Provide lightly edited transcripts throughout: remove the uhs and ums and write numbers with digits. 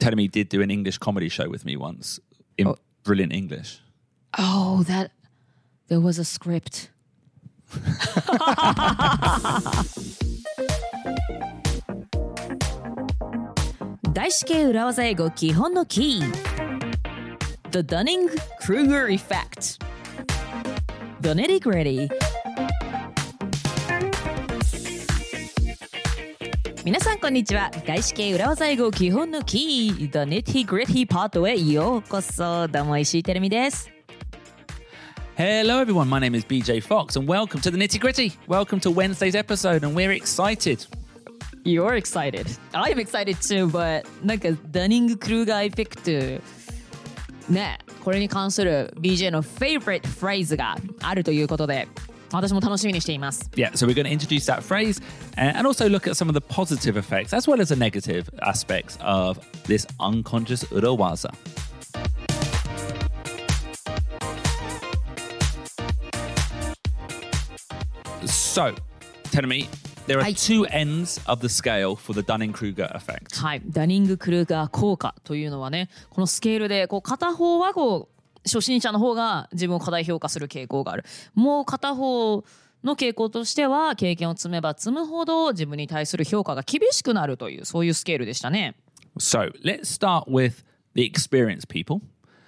Telemi did do an English comedy show with me once in brilliant English. Oh, there was a script. 外資系裏技英語基本のキー The Dunning-Kruger Effect The Nitty-Gritty 皆さんこんにちは。外資系裏技英語基本のキー The Nitty-Gritty パートへようこそ。どうも石井てるみです。 Hello everyone, my name is BJ Fox and welcome to the Nitty Gritty. Welcome to Wednesday's episode and we're excited. You're excited. I'm excited too, but なんかダニング・クルーガーエフェクトね、これに関する BJ の favorite phrase があるということで私も楽しみにしています。 Yeah, so we're going to introduce that phrase and also look at some of the positive effects as well as the negative aspects of this unconscious urawaza. So, tell me, there are two ends of the scale for the Dunning-Kruger effect. はい、ダニング・クルーガー効果というのはね、このスケールでこう片方はこう初心者の方が自分を過大評価する傾向がある。もう片方の傾向としては経験を積めば積むほど自分に対する評価が厳しくなるというそういうスケールでしたね。 So, let's start with the experienced people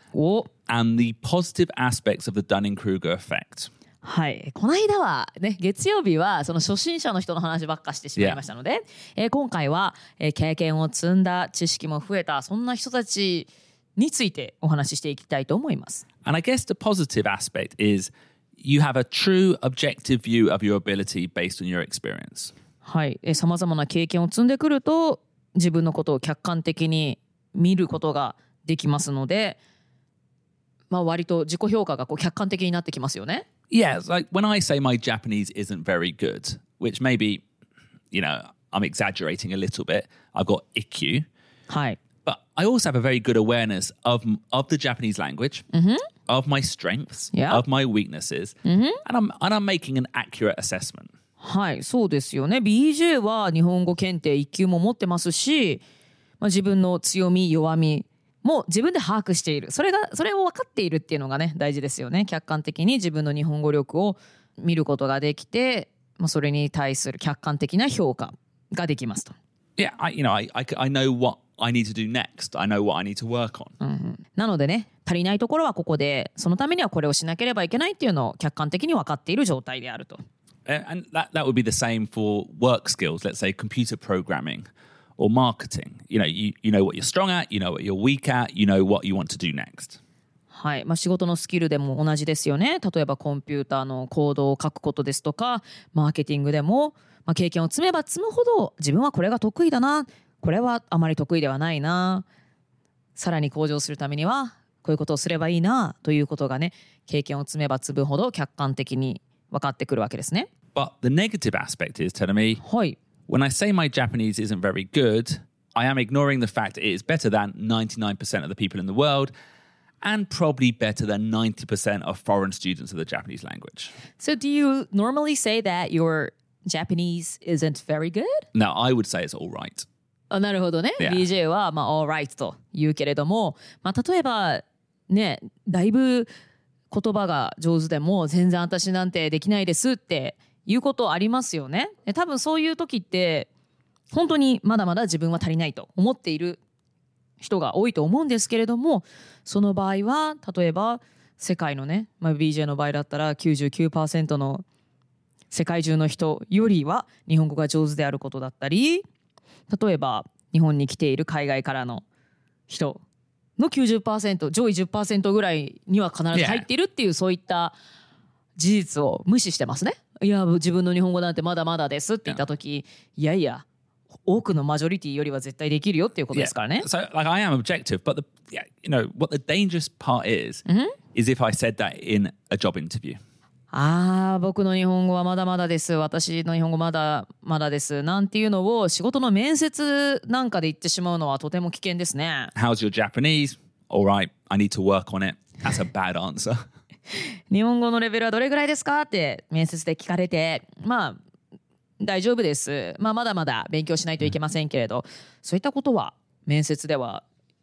and the positive aspects of the Dunning-Kruger effect. はい、この間はね月曜日はその初心者の人の話ばっかしてしまいましたので、今回は、経験を積んだ知識も増えたそんな人たちについてお話ししていきたいと思います。 And I guess the positive aspect is you have a true objective view of your ability based on your experience. はい、さまざまな経験を積んでくると自分のことを客観的に見ることができますので、まあ割と自己評価がこう客観的になってきますよね。 Yeah, it's like when I say my Japanese isn't very good, which maybe, you know, I'm exaggerating a little bit. I've got ikkyu. はい。 But I also have a very good awareness of the Japanese language, of my strengths, of my weaknesses, and I'm making an accurate assessment. はい、そうですよね。BJ は日本語検定1級も持ってますし、まあ、自分の強み、弱み、もう自分で把握しているそれを分かっているっていうのがね大事ですよね。客観的に自分の日本語力を見ることができて、まあ、それに対する客観的な評価ができますと。 Yeah, I know what I need to do next. I know what I need to work on. なのでね足りないところはここでそのためにはこれをしなければいけないっていうのを客観的に分かっている状態であると。 And that would be the same for work skills. Let's say computer programming.Or marketing. You know what you're strong at, you know what you're weak at, you know what you want to do next. はい、まあ、仕事のスキルでも同じですよね。例えばコンピューターのコードを書くことですとか、マーケティングでも、まあ、経験を積めば積むほど自分はこれが得意だな、これはあまり得意ではないな、さらに向上するためにはこういうことをすればいいなということがね、経験を積めば積むほど客観的に分かってくるわけですね。 But the negative aspect is telling me, はい。 When I say my Japanese isn't very good, I am ignoring the fact it is better than 99% of the people in the world and probably better than 90% of foreign students of the Japanese language. So do you normally say that your Japanese isn't very good? No, I would say it's all right. なるほどね。 Yeah. BJ は、まあ、all right と言うけれども、まあ、例えばね、だいぶ言葉が上手でも全然私なんてできないですっていうことありますよね。多分そういう時って本当にまだまだ自分は足りないと思っている人が多いと思うんですけれども、その場合は例えば世界のね、まあ、BJ の場合だったら 99% の世界中の人よりは日本語が上手であることだったり、例えば日本に来ている海外からの人の 90% 上位 10% ぐらいには必ず入っているっていう、そういった事実を無視してますね。いや自分の日本語なんてまだまだですって言った時、いやいや多くのマジョリティよりは絶対できるよっていうことですからね。 So like I am objective, but what the dangerous part is if I said that in a job interview. 僕の日本語はまだまだです。私の日本語まだまだです。なんていうのを仕事の面接なんかで言ってしまうのはとても危険ですね。 How's your Japanese? All right, I need to work on it. That's a bad answer. 日本語のレベルはどれぐらいですかって面接で聞かれて、まあ大丈夫です。まあまだまだ勉強しないといけませんけれど、そういったことは面接では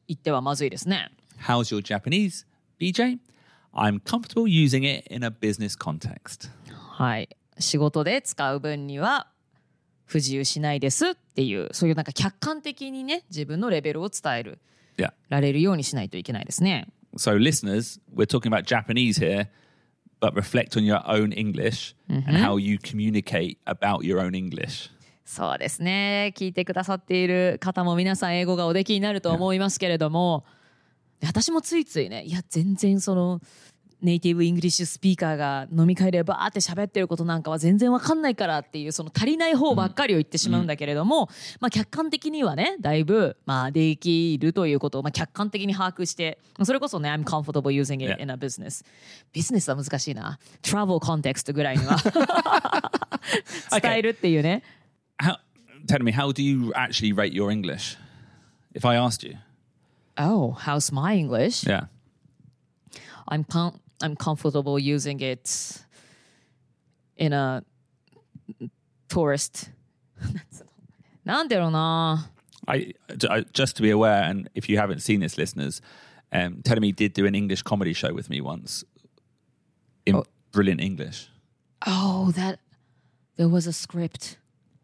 言ってはまずいですね。 How's your Japanese, BJ? I'm comfortable using it in a business context. はい。仕事で使う分には不自由しないですっていう、そういうなんか客観的にね、自分のレベルを伝える、 Yeah. られるようにしないといけないですね。 So listeners, we're talking about Japanese here, but reflect on your own English and how you communicate about your own English. そうですね。聞いてくださっている方も皆さん英語がおできになると思いますけれども、私もついついね、いや全然そのネイティブイングリッシュスピーカーが飲み会でバーって喋ってることなんかは全然わかんないからっていうその足りない方ばっかりを言ってしまうんだけれども、まあ客観的にはねだいぶまあできるということをまあ客観的に把握して、それこそね I'm comfortable using it in a business。ビジネスは難しいな。Travel context ぐらいには伝えるっていうね。 Tell me, how do you actually rate your English? If I asked you. Oh, how's my English? Yeah. I'm comfortable using it in a tourist なんだろうな。 Just to be aware, and if you haven't seen this, listeners, Telemi did do an English comedy show with me once in brilliant English. Oh, there was a script.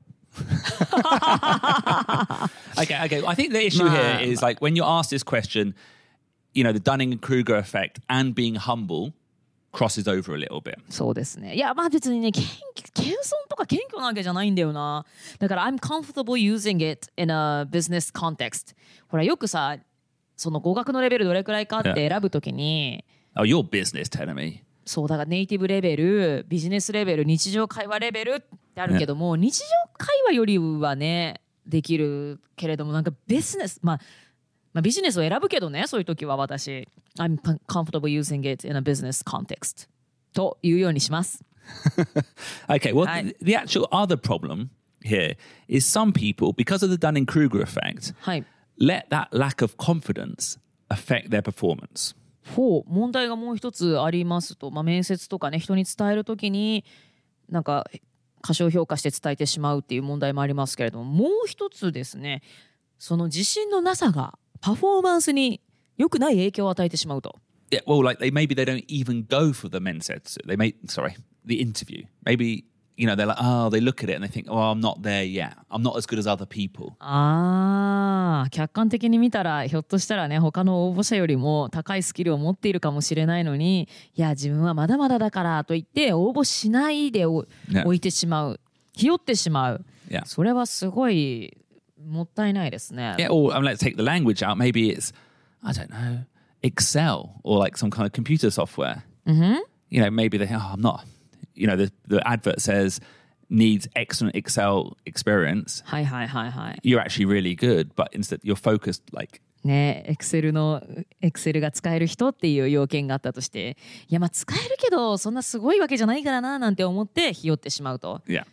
Okay. I think the issue here is like when you're asked this question, you know, the Dunning-Kruger effect and being humble crosses over a little bit. そうですね。いや、まあ別にね、謙遜とか謙虚なわけじゃないんだよな。だから I'm comfortable using it in a business context. ほらよくさ、その語学のレベルどれくらいかって選ぶときに、 Oh, your business, Telemi. そうだからネイティブレベル、ビジネスレベル、日常会話レベルってあるけども、日常会話よりはねできるけれども、なんかビジネス、まあビジネスを選ぶけどね、そういう時は私 I'm comfortable using it in a business context というようにします。 Okay, well, the actual other problem here is some people, because of the Dunning-Kruger effect, はい。 let that lack of confidence affect their performance. 問題がもう一つありますと、まあ、面接とかね人に伝えるときになんか過小評価して伝えてしまうっていう問題もありますけれども、もう一つですね、その自信のなさがパフォーマンスに良くない影響を与えてしまうと。 Yeah, well, like maybe they don't even go for the mensetsu. The interview. Maybe, you know, they're like, oh, they look at it and they think, oh, I'm not there yet. I'm not as good as other people. 客観的に見たらひょっとしたらね他の応募者よりも高いスキルを持っているかもしれないのに、いや自分はまだまだだからと言って応募しないで置いてしまう、ひよってしまう、それはすごいもったいないですね。 Yeah, or let's take the language out. Maybe it's, I don't know, Excel or like some kind of computer software. You know, maybe they think, oh, I'm not, you know, the advert says needs excellent Excel experience. はいはいはいはい。 You're actually really good, but instead you're focused like ね、エクセルが使える人っていう要件があったとして、いやまあ使えるけどそんなすごいわけじゃないからななんて思ってひよってしまうと。 Yeah.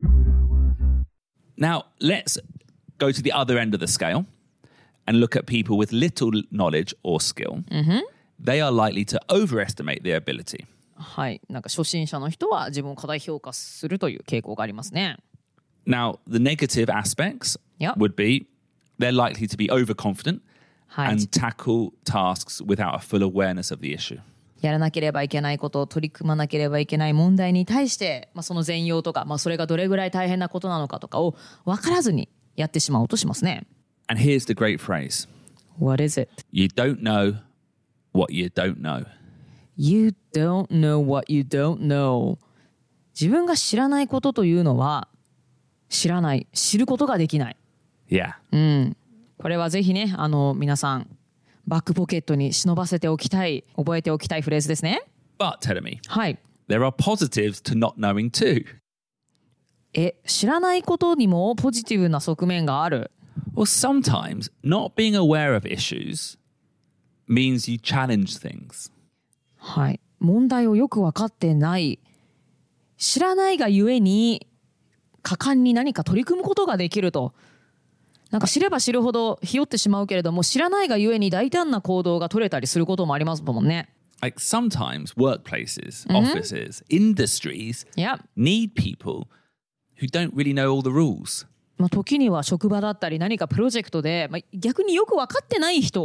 Now let's go to the other end of the scale and look at people with little knowledge or skill. They are likely to overestimate their ability. はい、なんか初心者の人は自分を過大評価するという傾向がありますね。 Now, the negative aspects would be they're likely to be overconfident and tackle tasks without a full awareness of the issue. やらなければいけないことを取り組まなければいけない問題に対して、その全容とか、それがどれぐらい大変なことなのかとかを分からずにやってしまおうとしますね。 And here's the great phrase. What is it? You don't know what you don't know. You don't know what you don't know. 自分が知らないことというのは知ることができない。 Yeah. これはぜひね、皆さんバックポケットに忍ばせておきたい、覚えておきたいフレーズですね。 But, Telemi, はい。 there are positives to not knowing too. 知らないことにもポジティブな側面がある。 Well, sometimes not being aware of issues means you challenge things. はい。問題をよく分かってない。知らないがゆえに果敢に何か取り組むことができると。なんか知れば知るほどひよってしまうけれども、知らないがゆえに大胆な行動が取れたりすることもありますもんね。 Like sometimes workplaces, offices, industries need people who don't really know all the rules. 時には職場だったり何かプロジェクトで、逆によく分かってない人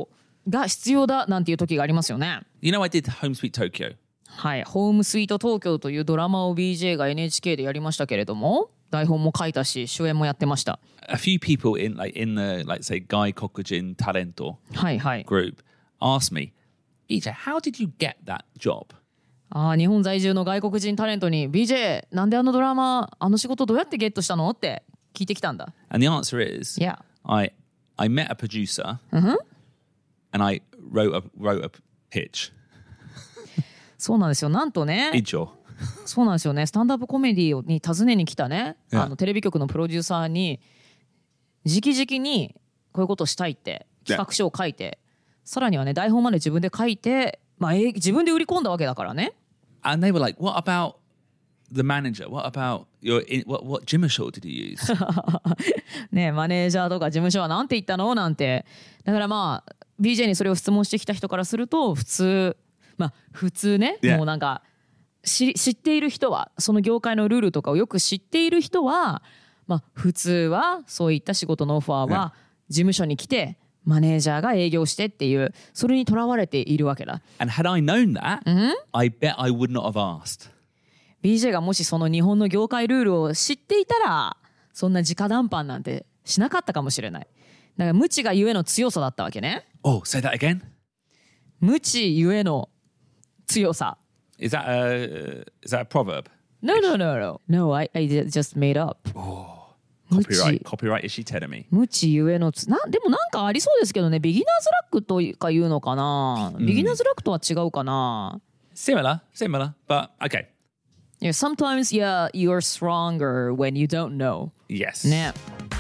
が必要だなんていう時がありますよね。 You know, I did Home Sweet Tokyo. はい、ホームスイート東京というドラマを BJ が NHK でやりましたけれども、台本も書いたし主演もやってました。 A few people in the say Guy Kokujin Talento はいはい。 group asked me, BJ, how did you get that job? 日本在住の外国人タレントに BJ なんであのドラマあの仕事どうやってゲットしたのって聞いてきたんだ。 And the answer is, Yeah. I met a producer and I wrote a pitch. そうなんですよ。なんとね。 以上。 そうなんですよね。スタンダップコメディに訪ねに来たね、 Yeah. テレビ局のプロデューサーに直々にこういうことをしたいって企画書を書いて、さらにはね台本まで自分で書いて、自分で売り込んだわけだからね。 And they were like, what about the manager? What about what Jimmy Shaw did you use? ね、マネージャーとか事務所はなんて言ったのなんて。だからBJ にそれを質問してきた人からすると普通ね、 Yeah. もうなんか知っている人はその業界のルールとかをよく知っている人は、普通はそういった仕事のオファーは事務所に来てマネージャーが営業してっていうそれにとらわれているわけだ。 And had I known that, I bet I would not have asked. BJ がもしその日本の業界ルールを知っていたらそんな直談判なんてしなかったかもしれない。だから無知がゆえの強さだったわけね。 Oh, say that again? 無知ゆえの強さ。 Is that a proverb? No, I just made up. Copyright is she telling me? 無知ゆえのでもなんかありそうですけどね。ビギナーズラックとか言うのかな、ビギナーズラックとは違うかな。 Similar, but okay. Yeah, sometimes, you're stronger when you don't know. Yes. ね。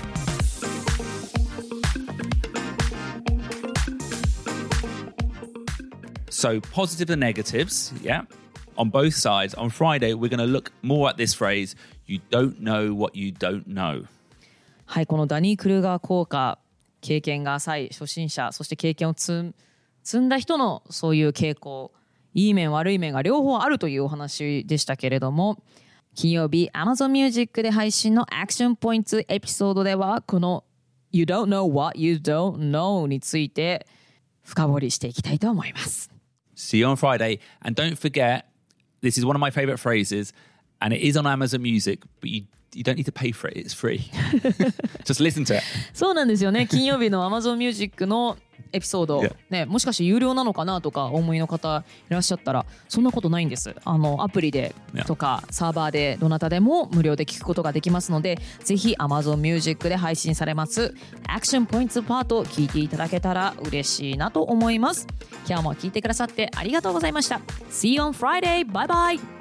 So positive and negatives, yeah, on both sides. On Friday, we're going to look more at this phrase, you don't know what you don't know. はい、このダニー・クルーガー効果、経験が浅い初心者、そして経験を積んだ人のそういう傾向、いい面悪い面が両方あるというお話でしたけれども、金曜日 Amazon Music で配信のアクションポイントエピソードではこの You don't know what you don't know について深掘りしていきたいと思います。 See you on Friday. And don't forget, this is one of my favorite phrases, and it is on Amazon Music, but you don't need to pay for it. It's free. Just listen to it. そうなんですよね。金曜日の Amazon Music のエピソード、ね、もしかして有料なのかなとかお思いの方いらっしゃったらそんなことないんです。アプリでとかサーバーでどなたでも無料で聞くことができますので、ぜひ Amazon Music で配信されますアクションポイントパートを聞いていただけたら嬉しいなと思います。今日も聞いてくださってありがとうございました。See you on Friday! Bye bye!